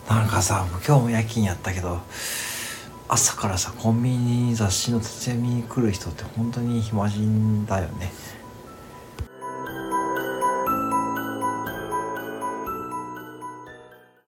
なんかさ、今日も夜勤やったけど、朝からさコンビニに雑誌の立ち読みに来る人って本当に暇人だよね。